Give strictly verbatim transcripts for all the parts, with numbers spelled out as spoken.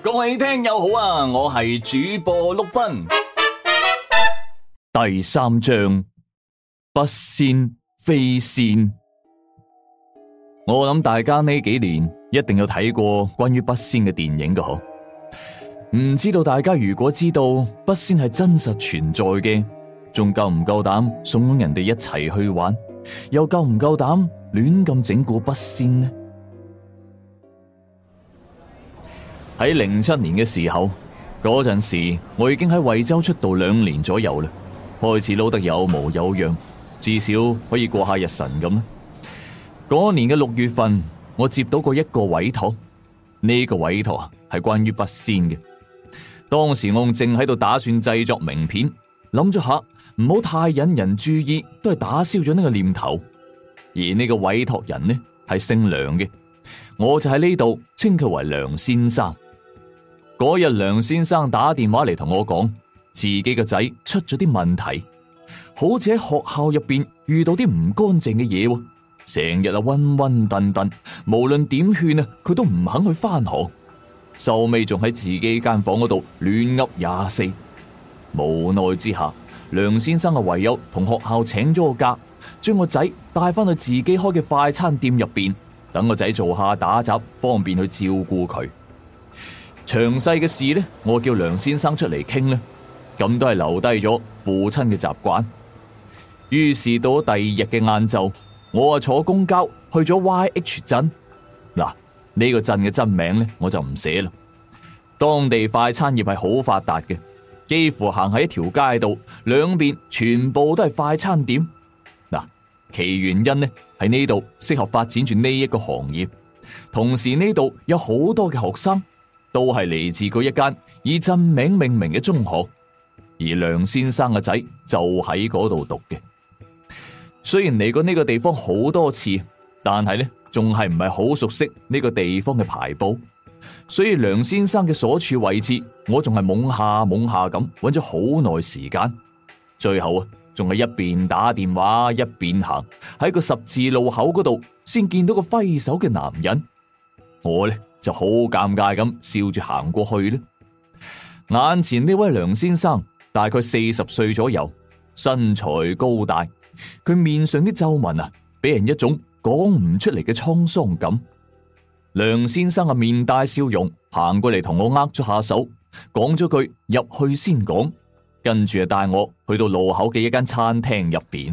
各位聽友好啊，我係主播碌斌。第三章，筆仙飛仙。我諗大家呢幾年一定有睇過關於筆仙嘅電影㗎嗬。唔知道大家如果知道筆仙係真實存在嘅，仲夠唔夠膽慫恿人哋一齊去玩？又夠唔夠膽亂咁整蠱筆仙呢？喺零七年嘅時候，嗰陣時我已經喺惠州出道兩年左右啦，開始撈得有模有樣，至少可以過下日神咁。嗰年嘅六月份，我接到過一個委託，呢個委託啊係關於筆仙嘅。當時我正喺度打算製作名片，諗咗下唔好太引人注意，都係打消咗呢個念頭。而呢個委託人呢係姓梁嘅，我就喺呢度稱佢為梁先生。嗰日梁先生打電話嚟同我講，自己個仔出咗啲問題，好似喺學校入邊遇到啲唔乾淨嘅嘢，成日啊暈暈沌沌，無論點勸啊佢都唔肯去翻學，收尾仲喺自己間房嗰度亂噏廿四。無奈之下，梁先生啊唯有同學校請咗個假，將個仔帶翻去自己開嘅快餐店入邊，等個仔做下打雜，方便去照顧佢。詳細嘅事呢，我叫梁先生出嚟傾呢，咁都係留低咗父親嘅習慣。於是到咗第二日嘅晏晝，我啊坐公交去咗 Y H 鎮。嗱，呢個鎮嘅真名呢，我就唔寫啦。當地快餐業係好發達嘅，幾乎行喺一條街度，兩邊全部都係快餐店。嗱，其原因呢係呢度適合發展住呢一個行業，同時呢度有好多嘅學生都係嚟自嗰一間以鎮名命名嘅中學，而梁先生嘅仔就喺嗰度讀嘅。雖然嚟過呢個地方好多次，但係呢仲係唔係好熟悉呢個地方嘅排布，所以梁先生嘅所處位置，我仲係懵下懵下咁揾咗好耐時間，最後啊仲係一邊打電話一邊行，喺個十字路口嗰度先見到個揮手嘅男人。我呢就好尷尬咁笑住行過去咧。眼前呢位梁先生大概四十歲左右，身材高大，佢面上啲皺紋啊，俾人一種講唔出嚟嘅滄桑感。梁先生啊面帶笑容行過嚟同我握咗下手，講咗句入去先講，跟住啊帶我去到路口嘅一間餐廳入邊。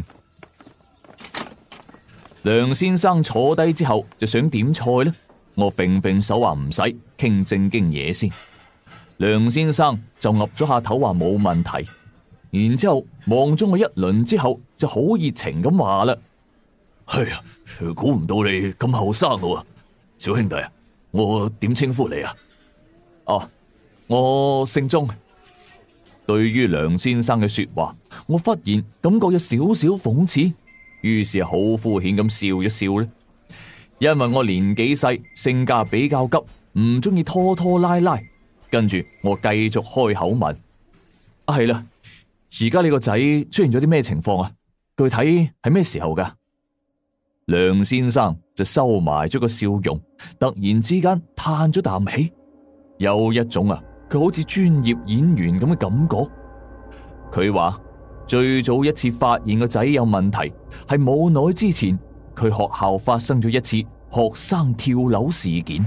梁先生坐低之後就想點菜咧。我揈揈手話唔使，傾正經嘢先。梁先生就岌咗下頭話冇問題，然之後望咗我一輪之後就好熱情咁話啦：哎呀，估唔到你咁後生喎，小兄弟啊，我點稱呼你啊？哦，我姓鍾。對於梁先生嘅說話，我忽然感覺有少少諷刺，於是好敷衍咁笑一笑咧。因為我年紀細，性格比較急，唔中意拖拖拉拉。跟住我繼續開口問：啊係啦，而家你個仔出現咗啲咩情況啊？具體係咩時候噶？梁先生就收埋咗個笑容，突然之間嘆咗啖氣，有一種啊，佢好似專業演員咁嘅感覺。佢話最早一次發現個仔有問題，係冇耐之前。佢學校發生咗一次學生跳樓事件，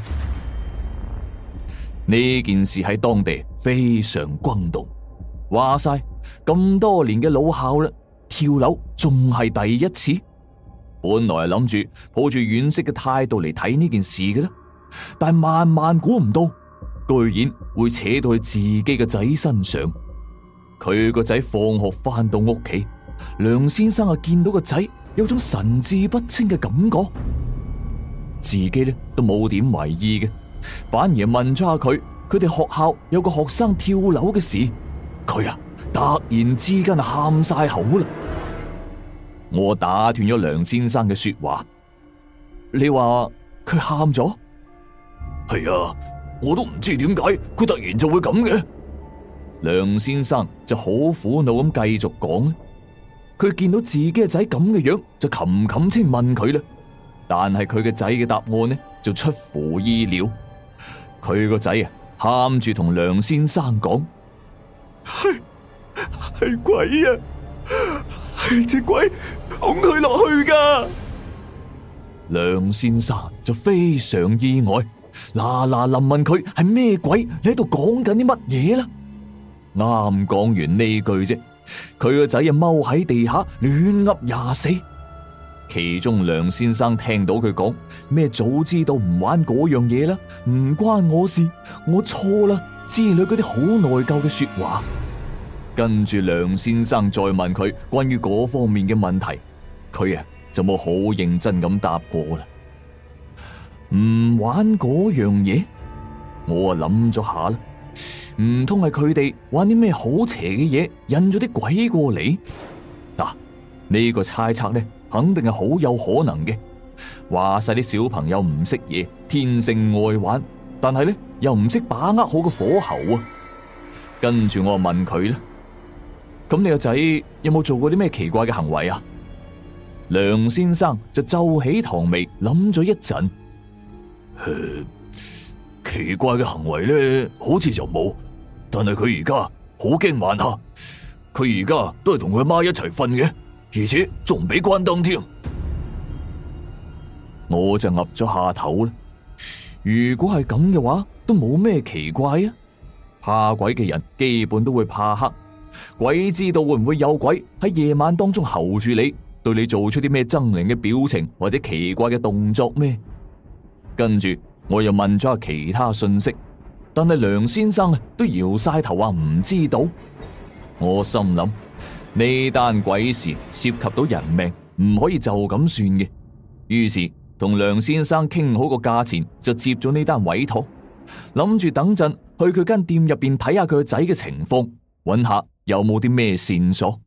呢件事喺當地非常轟動。話晒咁多年嘅老校啦，跳樓仲係第一次。本來係諗住抱住惋惜嘅態度嚟睇呢件事嘅啦，但係萬萬估唔到，居然會扯到去自己嘅仔身上。佢個仔放學翻到屋企，梁先生啊見到個仔有種神志不清嘅感覺，自己咧都冇點為意嘅，反而問咗下佢，佢哋學校有個學生跳樓嘅事，佢啊突然之間啊喊晒口啦。我打斷咗梁先生嘅說話，你話佢喊咗？係啊，我都唔知點解佢突然就會咁嘅。梁先生就好苦惱咁繼續講。佢見到自己嘅仔咁嘅樣，就冚冚清問佢啦。但係佢嘅仔嘅答案呢，就出乎意料。佢個仔啊， 喊住同梁先生講： 係係鬼啊！係隻鬼拱佢落去噶。 梁先生就非常意外，嗱嗱臨問佢係咩鬼，你喺度講緊啲乜嘢啦？啱講完呢句啫，佢個仔啊踎喺地下亂噏廿四。其中梁先生聽到佢講咩早知道唔玩嗰樣嘢啦，唔關我事，我錯啦之類嗰啲好內疚嘅說話。跟住梁先生再問佢關於嗰方面嘅問題，佢啊就冇好認真咁答過啦。唔玩嗰樣嘢，我啊諗咗下啦，唔通係佢哋玩啲咩好邪嘅嘢，引咗啲鬼過嚟？嗱、啊，呢、呢個猜測呢，肯定係好有可能嘅。話晒啲小朋友唔識嘢，天性愛玩，但係呢又唔識把握好個火候啊。跟住我問佢啦，咁你個仔有冇做過啲咩奇怪嘅行為啊？梁先生就皺起堂眉諗咗一陣， 誒，奇怪嘅行為咧，好似就冇，但係佢而家好驚晚黑，佢而家都係同佢阿媽一齊瞓嘅，而且仲唔俾關燈添。 我就岌咗下頭啦。如果係咁嘅話，都冇咩奇怪啊。怕鬼嘅人基本都會怕黑，鬼知道會唔會有鬼喺夜晚當中候住你，對你做出啲咩猙獰嘅表情或者奇怪嘅動作咩？跟住我又問咗下其他信息，但係梁先生啊都搖晒頭話唔知道。我心諗呢單鬼事涉及到人命，唔可以就咁算嘅。於是同梁先生傾好個價錢，就接咗呢單委託，諗住等陣去佢間店入邊睇下佢個仔嘅情況，揾下有冇啲咩線索。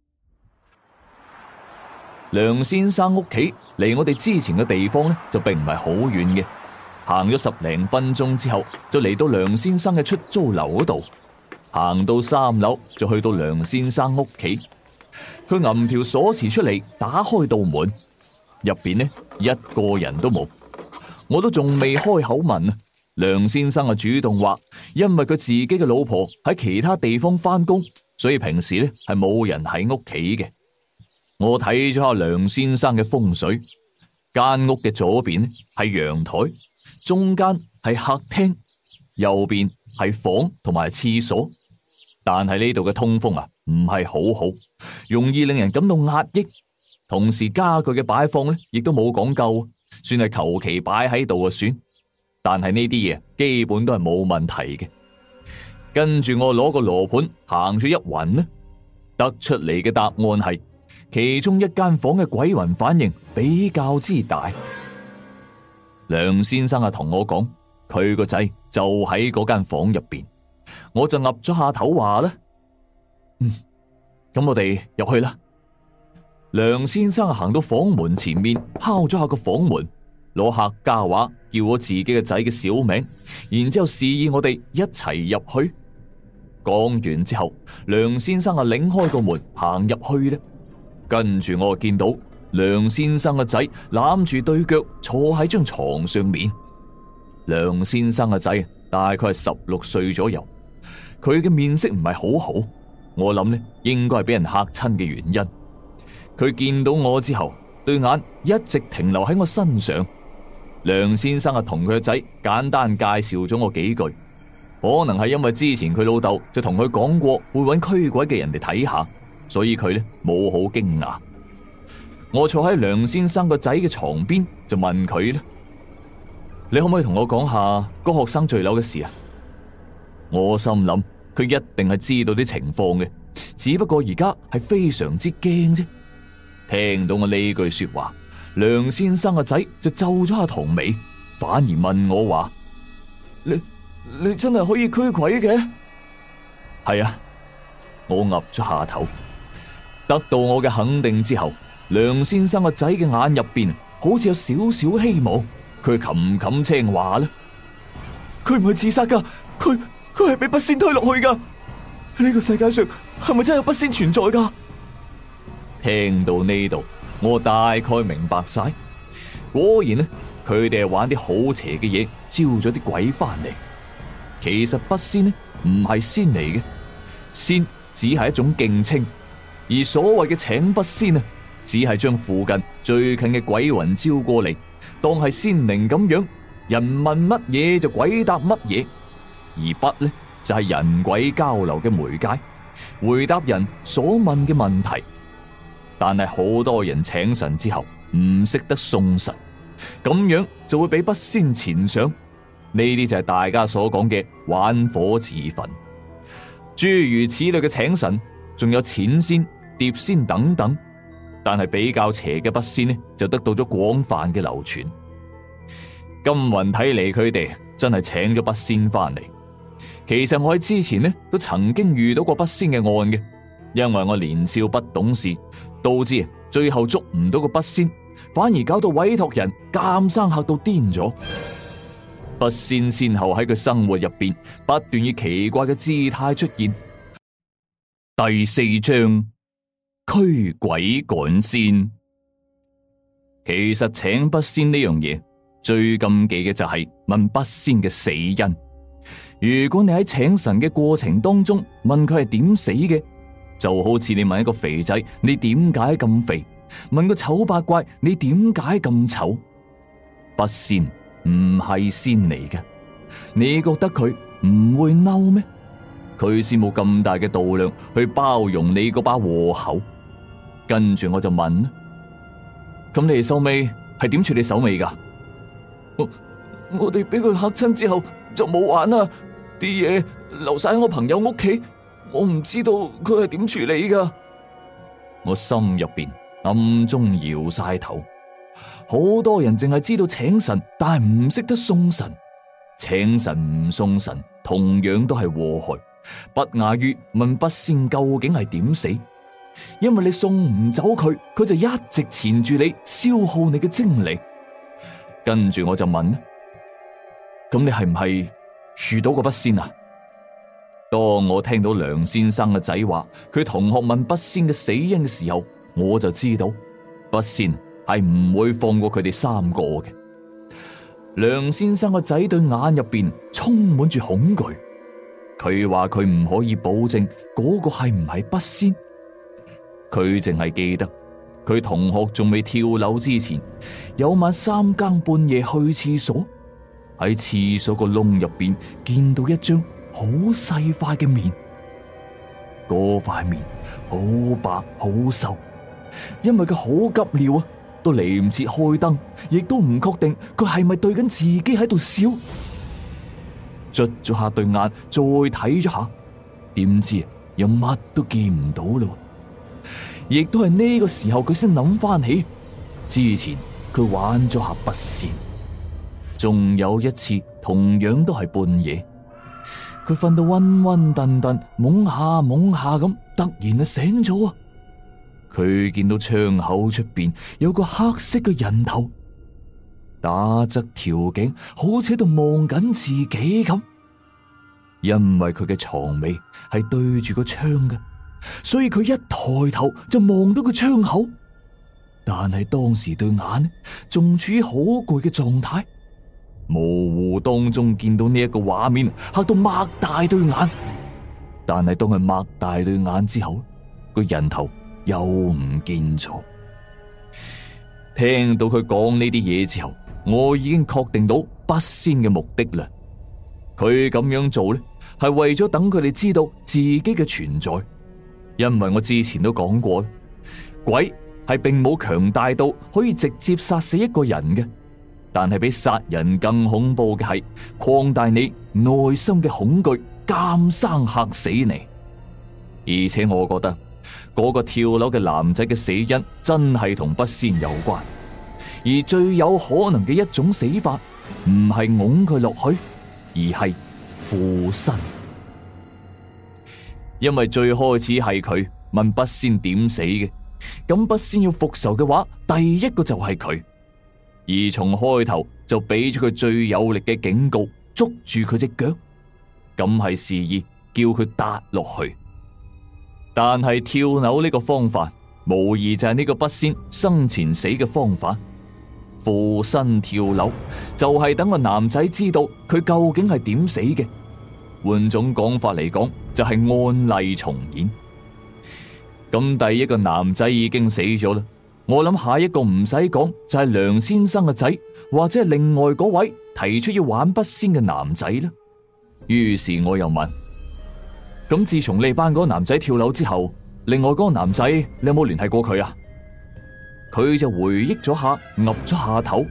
梁先生屋企離我哋之前嘅地方呢，就並唔係好遠嘅，行咗十零分鐘之後，就嚟到梁先生嘅出租樓嗰度。行到三樓就去到梁先生屋企，佢揞條鎖匙出嚟，打開道門，入邊呢一個人都冇。我都仲未開口問啊，梁先生啊主動話，因為佢自己嘅老婆喺其他地方翻工，所以平時呢係冇人喺屋企嘅。我睇咗下梁先生嘅風水，間屋嘅左邊係陽台，中間係客廳，右邊係房同埋廁所。但係呢度嘅通風啊唔係好好，容易令人感到壓抑。同時家具嘅擺放咧亦都冇講究，算係求其擺喺度就算。但係呢啲嘢基本都係冇問題嘅。跟住我攞個羅盤行咗一環呢，得出嚟嘅答案係其中一間房嘅鬼魂反應比較之大。梁先生啊同我講，佢個仔就喺嗰間房入邊。我就岌咗下頭話啦，嗯，咁我哋入去啦。梁先生行到房門前面，敲咗下個房門，攞客家話叫我自己嘅仔嘅小名，然之後示意我哋一齊入去。講完之後，梁先生啊擰開個門行入去咧，跟住我見到梁先生嘅仔攬住對腳坐喺張床上面。梁先生嘅仔大概係十六歲左右，佢嘅面色唔係好好，我諗呢應該係俾人嚇親嘅原因。佢見到我之後，對眼一直停留喺我身上。梁先生啊同佢嘅仔簡單介紹咗我幾句，可能係因為之前佢老豆就同佢講過會揾驅鬼嘅人嚟睇下，所以佢呢冇好驚訝。我坐喺梁先生個仔嘅床邊就問佢咧，你可唔可以同我講下嗰學生墜樓嘅事啊？我心諗佢一定係知道啲情況嘅，只不過而家係非常之驚啫。聽到我呢句說話，梁先生個仔就皺咗下堂眉，反而問我話：你你真係可以驅鬼嘅？係啊，我岌咗下頭。得到我嘅肯定之後，梁先生個仔嘅眼入邊好似有少少希望。佢冚冚青話啦，佢唔係自殺噶，佢佢係俾筆仙推落去噶。呢個世界上係咪真係有筆仙存在噶？聽到呢度，我大概明白晒。果然呢，佢哋係玩啲好邪嘅嘢，招咗啲鬼翻嚟。 其實筆仙呢唔係仙嚟嘅，仙只係一種敬稱，而所謂嘅請筆仙啊，只係將附近最近嘅鬼魂招過嚟，當係仙靈咁樣，人問乜嘢就鬼答乜嘢。而筆呢就係人鬼交流嘅媒介，回答人所問嘅問題。但係好多人請神之後唔識得送神，咁樣就會俾筆仙纏上。呢啲就係大家所講嘅玩火自焚。諸如此類嘅請神，仲有錢仙、碟仙等等。但係比較邪嘅筆仙呢，就得到咗廣泛嘅流傳。金雲睇嚟，佢哋真係請咗筆仙翻嚟。其實我喺之前呢都曾經遇到過筆仙嘅案嘅，因為我年少不懂事，導致最後捉唔到個筆仙，反而搞到委託人監生嚇到癲咗。筆仙先後喺佢生活入邊不斷以奇怪嘅姿態出現。第四章，驅鬼趕仙。其實請筆仙呢樣嘢最禁忌嘅就係問筆仙嘅死因。如果你喺請神嘅過程當中問佢係點死嘅，就好似你問一個肥仔你點解咁肥，問個醜八怪你點解咁醜。筆仙唔係仙嚟嘅，你覺得佢唔會嬲咩？佢先冇咁大嘅度量去包容你嗰把禍口。跟住我就問啦，咁你哋收尾係點處理手尾噶？我我哋俾佢嚇親之後就冇玩啦，啲嘢留晒喺我朋友屋企，我唔知道佢係點處理噶。我心入邊暗中搖晒頭。好多人淨係知道請神，但係唔識得送神。請神唔送神，同樣都係禍害，不亞於問筆仙究竟係點死。因為你送唔走佢，佢就一直纏住你，消耗你嘅精力。跟住我就問：咁你係唔係遇到過筆仙啊？當我聽到梁先生嘅仔話佢同學問筆仙嘅死因嘅時候，我就知道筆仙係唔會放過佢哋三個嘅。梁先生個仔對眼入邊充滿住恐懼，佢話佢唔可以保證嗰個係唔係筆仙。佢淨係記得佢同學仲未跳樓之前，有晚三更半夜去廁所，喺廁所個窿入邊見到一張好細塊嘅面，嗰塊面好白好瘦，因為佢好急尿啊，都嚟唔切開燈，亦都唔確定佢係咪對緊自己喺度笑。捽咗下對眼，再睇咗下，點知又乜都見唔到咯。亦都係呢個時候，佢先諗翻起之前佢玩咗下筆仙，仲有一次同樣都係半夜，佢瞓到暈暈沌沌，懵下懵下咁，突然就醒咗啊！佢見到窗口出邊有個黑色嘅人頭，打側條頸，好似喺度望緊自己咁。因為佢嘅床尾係對住個窗嘅，所以佢一抬頭就望到個窗口。但係當時對眼仲處於好攰嘅狀態，模糊當中見到呢一個畫面，嚇到擘大對眼。但係當佢擘大對眼之後，個人頭又唔見咗。聽到佢講呢啲嘢之後，我已經確定到筆仙嘅目的啦。佢咁樣做咧，係為咗等佢哋知道自己嘅存在。因為我之前都講過，鬼係並冇強大到可以直接殺死一個人嘅，但係比殺人更恐怖嘅係擴大你內心嘅恐懼，監生嚇死你。而且我覺得嗰個跳樓嘅男仔嘅死因真係同筆仙有關，而最有可能嘅一種死法唔係㧬佢落去，而係附身。因為最開始係佢問筆仙點死嘅，咁筆仙要復仇嘅話，第一個就係佢，而從開頭就俾咗佢最有力嘅警告，捉住佢隻腳，咁係示意叫佢跌落去。但係跳樓呢個方法，無疑就係呢個筆仙生前死嘅方法。附身跳樓就係等個男仔知道佢究竟係點死嘅， 換種講法嚟講，就係案例重演。咁第一個男仔已經死咗啦，我諗下一個唔使講就係梁先生嘅仔，或者係另外嗰位提出要玩筆仙嘅男仔啦。於是我又問：咁自從你班嗰個男仔跳樓之後，另外嗰個男仔你有冇聯繫過佢啊？佢就回憶咗下，岌咗下頭。誒、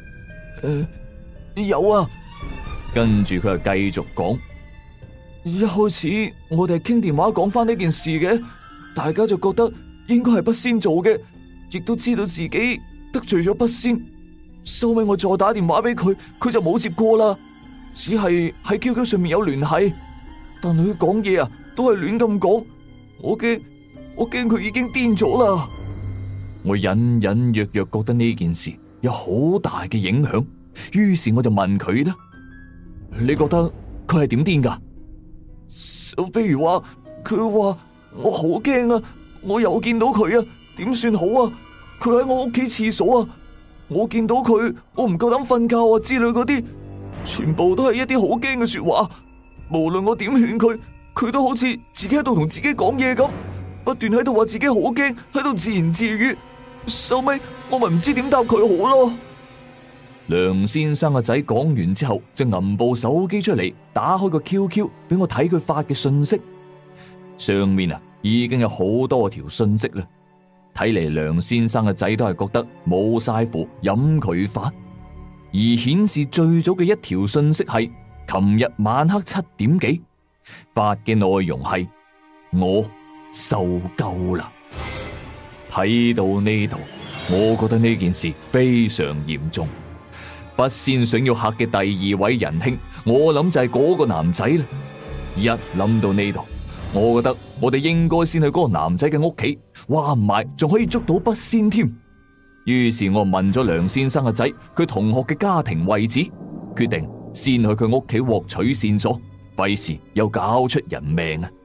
呃，有啊。跟住佢就繼續講：一開始我哋係傾電話講翻呢件事嘅，大家就覺得應該係筆仙做嘅，亦都知道自己得罪咗筆仙。收尾我再打電話俾佢，佢就冇接過啦，只係喺 Q Q 上面有聯繫，但係佢講嘢啊都係亂咁講，我驚我驚佢已經癲咗啦。我隱隱約約覺得呢件事有好大嘅影響，於是我就問佢啦：你覺得佢係點癲噶？就比如話佢話我好驚啊，我又見到佢啊，點算好啊？佢喺我屋企廁所啊，我見到佢，我唔夠膽瞓覺啊之類嗰啲，全部都係一啲好驚嘅說話。無論我點勸佢，佢都好似自己喺度同自己講嘢咁，不斷喺度話自己好驚，喺度自言自語。收尾我咪唔知點答佢好咯。梁先生嘅仔講完之後，就揞部手機出嚟，打開個 Q Q 俾我睇佢發嘅信息，上面啊已經有好多條信息啦。睇嚟梁先生嘅仔都係覺得冇晒符，飲佢發。而顯示最早嘅一條信息係琴日晚黑七點幾發嘅，內容係我受夠啦。睇到呢度，我覺得呢件事非常嚴重。筆仙想要嚇嘅第二位仁兄，我諗就係嗰個男仔啦。一諗到呢度，我覺得我哋應該先去嗰個男仔嘅屋企，話唔埋仲可以捉到筆仙添。於是我問咗梁先生嘅仔佢同學嘅家庭位置，決定先去佢屋企獲取線索，費事又搞出人命啊！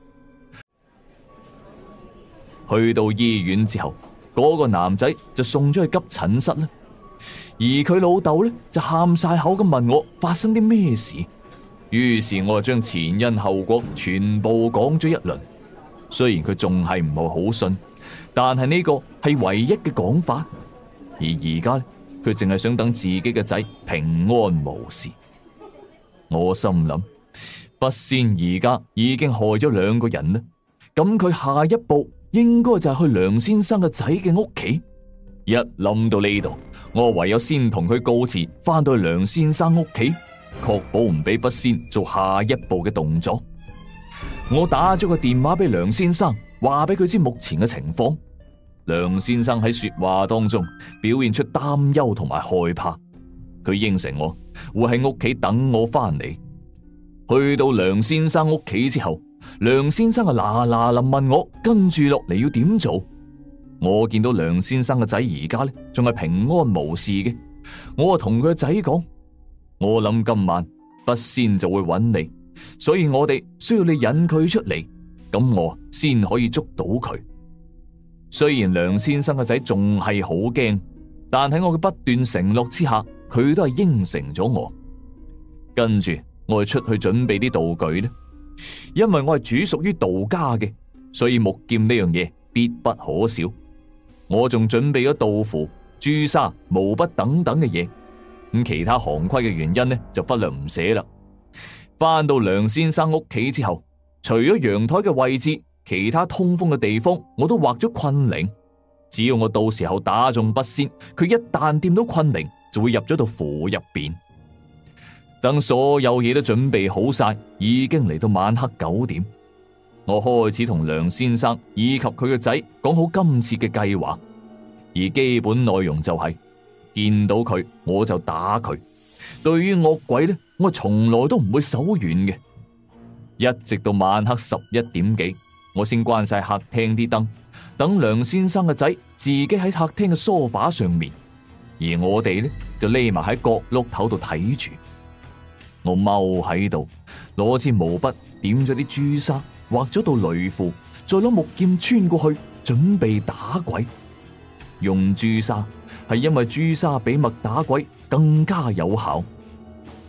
去到醫院之後，嗰個男仔就送咗去急診室啦。而佢老豆咧就喊晒口咁問我發生啲咩事，於是我就將前因後果全部講咗一輪。雖然佢仲係唔係好信，但係呢個係唯一嘅講法。而而家咧，佢淨係想等自己嘅仔平安無事。我心諗，筆仙而家已經害咗兩個人啦，咁佢下一步應該就係去梁先生嘅仔嘅屋企。一諗到呢度，我唯有先同佢告辭，翻到去梁先生屋企，確保唔俾筆仙做下一步嘅動作。我打咗個電話俾梁先生，話俾佢知目前嘅情況。梁先生喺說話當中表現出擔憂同埋害怕，佢應承我會喺屋企等我翻嚟。去到梁先生屋企之後，梁先生啊嗱嗱臨問我跟住落嚟要點做。我見到梁先生嘅仔而家咧仲係平安無事嘅，我啊同佢個仔講，我諗今晚筆仙就會揾你，所以我哋需要你引佢出嚟，咁我先可以捉到佢。雖然梁先生嘅仔仲係好驚，但喺我嘅不斷承諾之下，佢都係應承咗我。跟住我就出去準備啲道具咧，因為我係主屬於道家嘅，所以木劍呢樣嘢必不可少。我仲準備咗道符、朱砂、毛筆等等嘅嘢，咁其他行規嘅原因呢就忽略唔寫啦。翻到梁先生屋企之後，除咗陽台嘅位置，其他通風嘅地方我都畫咗困靈，只要我到時候打中筆仙，佢一旦掂到困靈，就會入咗道符入邊。等所有嘢都準備好晒，已經嚟到晚黑九點。我開始同梁先生以及佢個仔講好今次嘅計劃，而基本內容就係見到佢我就打佢。對於惡鬼呢，我從來都唔會手軟嘅。一直到晚黑十一點幾，我先關晒客廳啲燈，等梁先生嘅仔自己喺客廳嘅梳化上面，而我哋呢就匿埋喺角落頭度睇住。我踎喺度，攞支毛筆點咗啲朱砂，畫咗道雷符，再攞木劍穿過去，準備打鬼。用朱砂係因為朱砂比墨打鬼更加有效。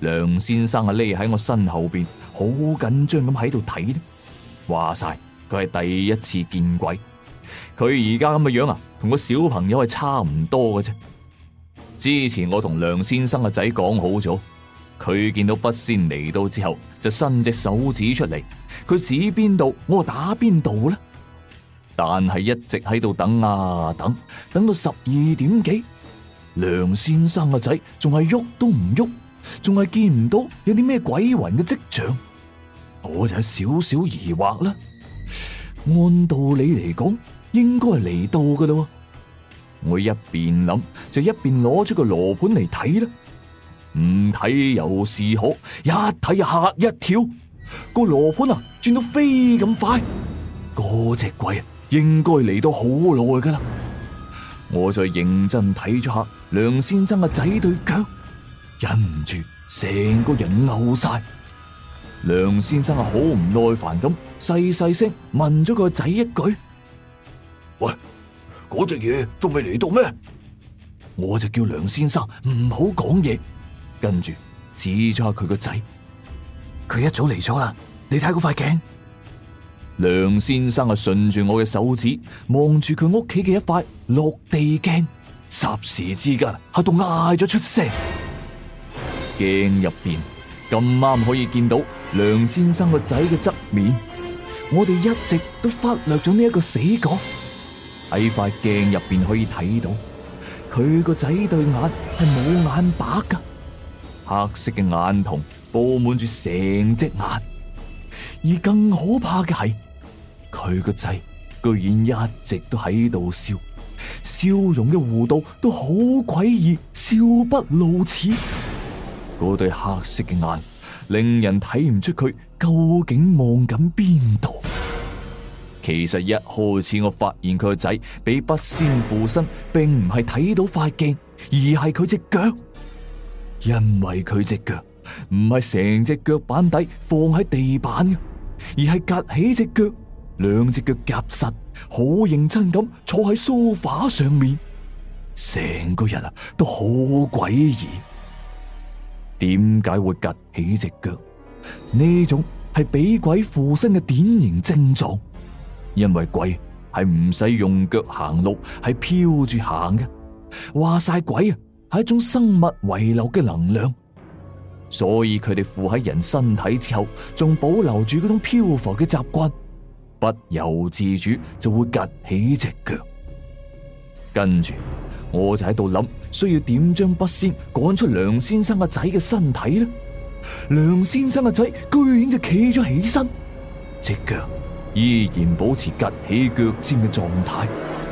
梁先生啊匿喺我身後邊，好緊張咁喺度睇呢。話晒佢係第一次見鬼，佢而家咁嘅樣啊，同個小朋友係差唔多嘅啫。之前我同梁先生嘅仔講好咗，佢見到筆仙嚟到之後，就伸隻手指出嚟，佢指邊度，我打邊度啦。但係一直喺度等啊等，等到十二點幾，梁先生嘅仔仲係喐都唔喐，仲係見唔到有啲咩鬼魂嘅跡象。我就有少少疑惑啦。按道理嚟講，應該係嚟到噶啦。我一邊諗，就一邊攞出個羅盤嚟睇啦。唔睇又是可，一睇就嚇一跳。個羅盤啊，轉到飛咁快，嗰隻鬼啊，應該嚟到好耐噶啦。我再認真睇咗下梁先生嘅仔對腳，忍唔住成個人嘔晒。梁先生啊，好唔耐煩咁細細聲問咗個仔一句： 喂，嗰隻嘢仲未嚟到咩？ 我就叫梁先生唔好講嘢，跟住指咗下佢個仔，佢一早嚟咗啦，你睇嗰塊鏡。梁先生啊，順住我嘅手指望住佢屋企嘅一塊落地鏡，霎時之間嚇到嗌咗出聲。鏡入邊咁啱可以見到梁先生個仔嘅側面，我哋一直都忽略咗呢一個死角。喺塊鏡入邊可以睇到，佢個仔對眼係冇眼白噶，黑色嘅眼瞳布滿住成隻眼。而更可怕嘅係，佢個仔居然一直都喺度笑，笑容嘅弧度都好詭異，笑不露齒。嗰對黑色嘅眼令人睇唔出佢究竟望緊邊度。其實一開始我發現佢個仔俾筆仙附身，並唔係睇到塊鏡，而係佢隻腳。因為佢隻腳唔係成隻腳板底放喺地板嘅，而係夾起隻腳，兩隻腳夾實，好認真咁坐喺梳化上面，成個人啊都好詭異。點解會夾起隻腳？呢種係俾鬼附身嘅典型症狀。因為鬼係唔使用腳行路，係飄住行嘅。話晒鬼啊，係一種生物遺留嘅能量，所以佢哋附喺人身體之後，仲保留住嗰種漂浮嘅習慣，不由自主就會趷起隻腳。跟住我就喺度諗，需要點將筆仙趕出梁先生嘅仔嘅身體呢？梁先生嘅仔居然就企咗起身，隻腳依然保持趷起腳尖嘅狀態。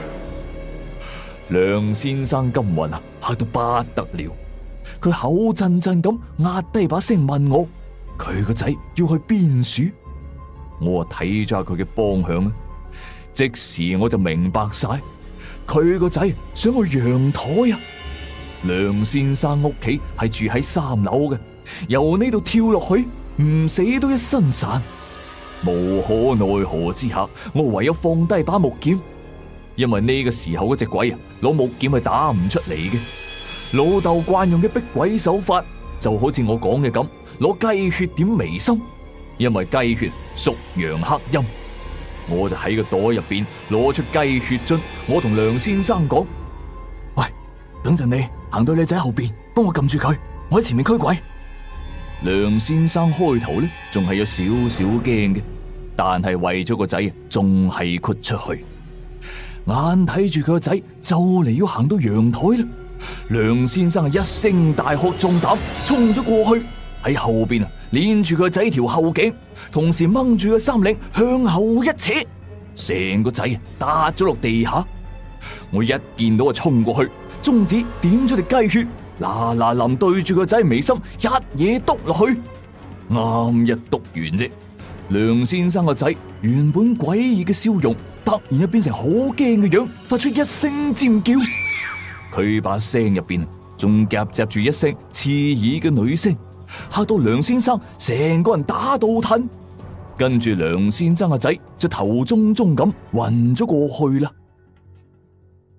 梁先生今魂啊，嚇到不得了，佢口震震咁壓低把聲問我：佢個仔要去邊處？我睇咗下佢嘅方向啦，即時我就明白晒，佢個仔想去陽台啊！梁先生屋企係住喺三樓嘅，由呢度跳落去，唔死都一身散。無可奈何之下，我唯有放低把木劍，因為呢個時候嗰隻鬼啊，攞木劍係打唔出嚟嘅。老豆慣用嘅逼鬼手法，就好似我講嘅咁，攞雞血點眉心，因為雞血屬陽克陰。我就喺個袋入邊攞出雞血樽，我同梁先生講：喂，等陣你行到你仔後邊，幫我撳住佢，我喺前面驅鬼。梁先生開頭咧仲係有少少驚嘅，但係為咗個仔，仲係豁出去。眼睇住佢個仔就嚟要行到陽台啦，梁先生係一聲大喝壯膽，衝咗過去，喺後邊啊鏈住佢個仔條後頸，同時掹住個衫領向後一扯，成個仔打咗落地下。我一見到啊衝過去，中指點咗條雞血，嗱嗱臨對住個仔眉心一嘢篤落去，啱一篤完啫。梁先生個仔原本詭異嘅笑容，突然就變成好驚嘅樣，發出一聲尖叫。佢把聲入邊仲夾雜住一聲刺耳嘅女聲，嚇到梁先生成個人打倒褪，跟住梁先生個仔就頭中中咁暈咗過去啦。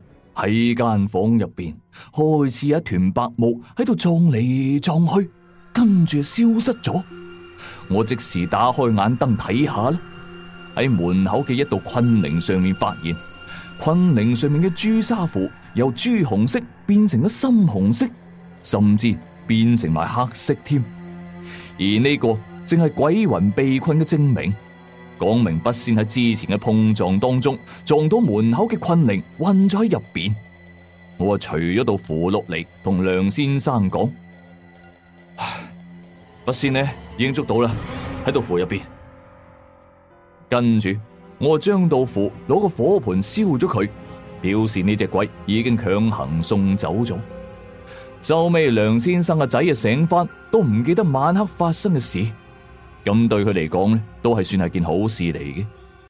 喺間房入邊開始有一團白霧喺度撞嚟撞去， 跟住消失咗。我即時打開眼燈睇下啦，喺門口嘅一道昆鈴上面發現，昆鈴上面嘅朱砂符由朱紅色變成咗深紅色，甚至變成埋黑色添。而呢個正係鬼魂被困嘅證明，講明筆仙喺之前嘅碰撞當中撞到門口嘅昆鈴，困咗喺入邊。我啊除咗道符落嚟，同梁先生講：筆仙呢已經捉到啦，喺道符入邊。跟住我將道符攞個火盆燒咗佢，表示呢隻鬼已經強行送走咗。收尾梁先生嘅仔啊醒翻，都唔記得晚黑發生嘅事，咁對佢嚟講呢，都係算係件好事嚟嘅。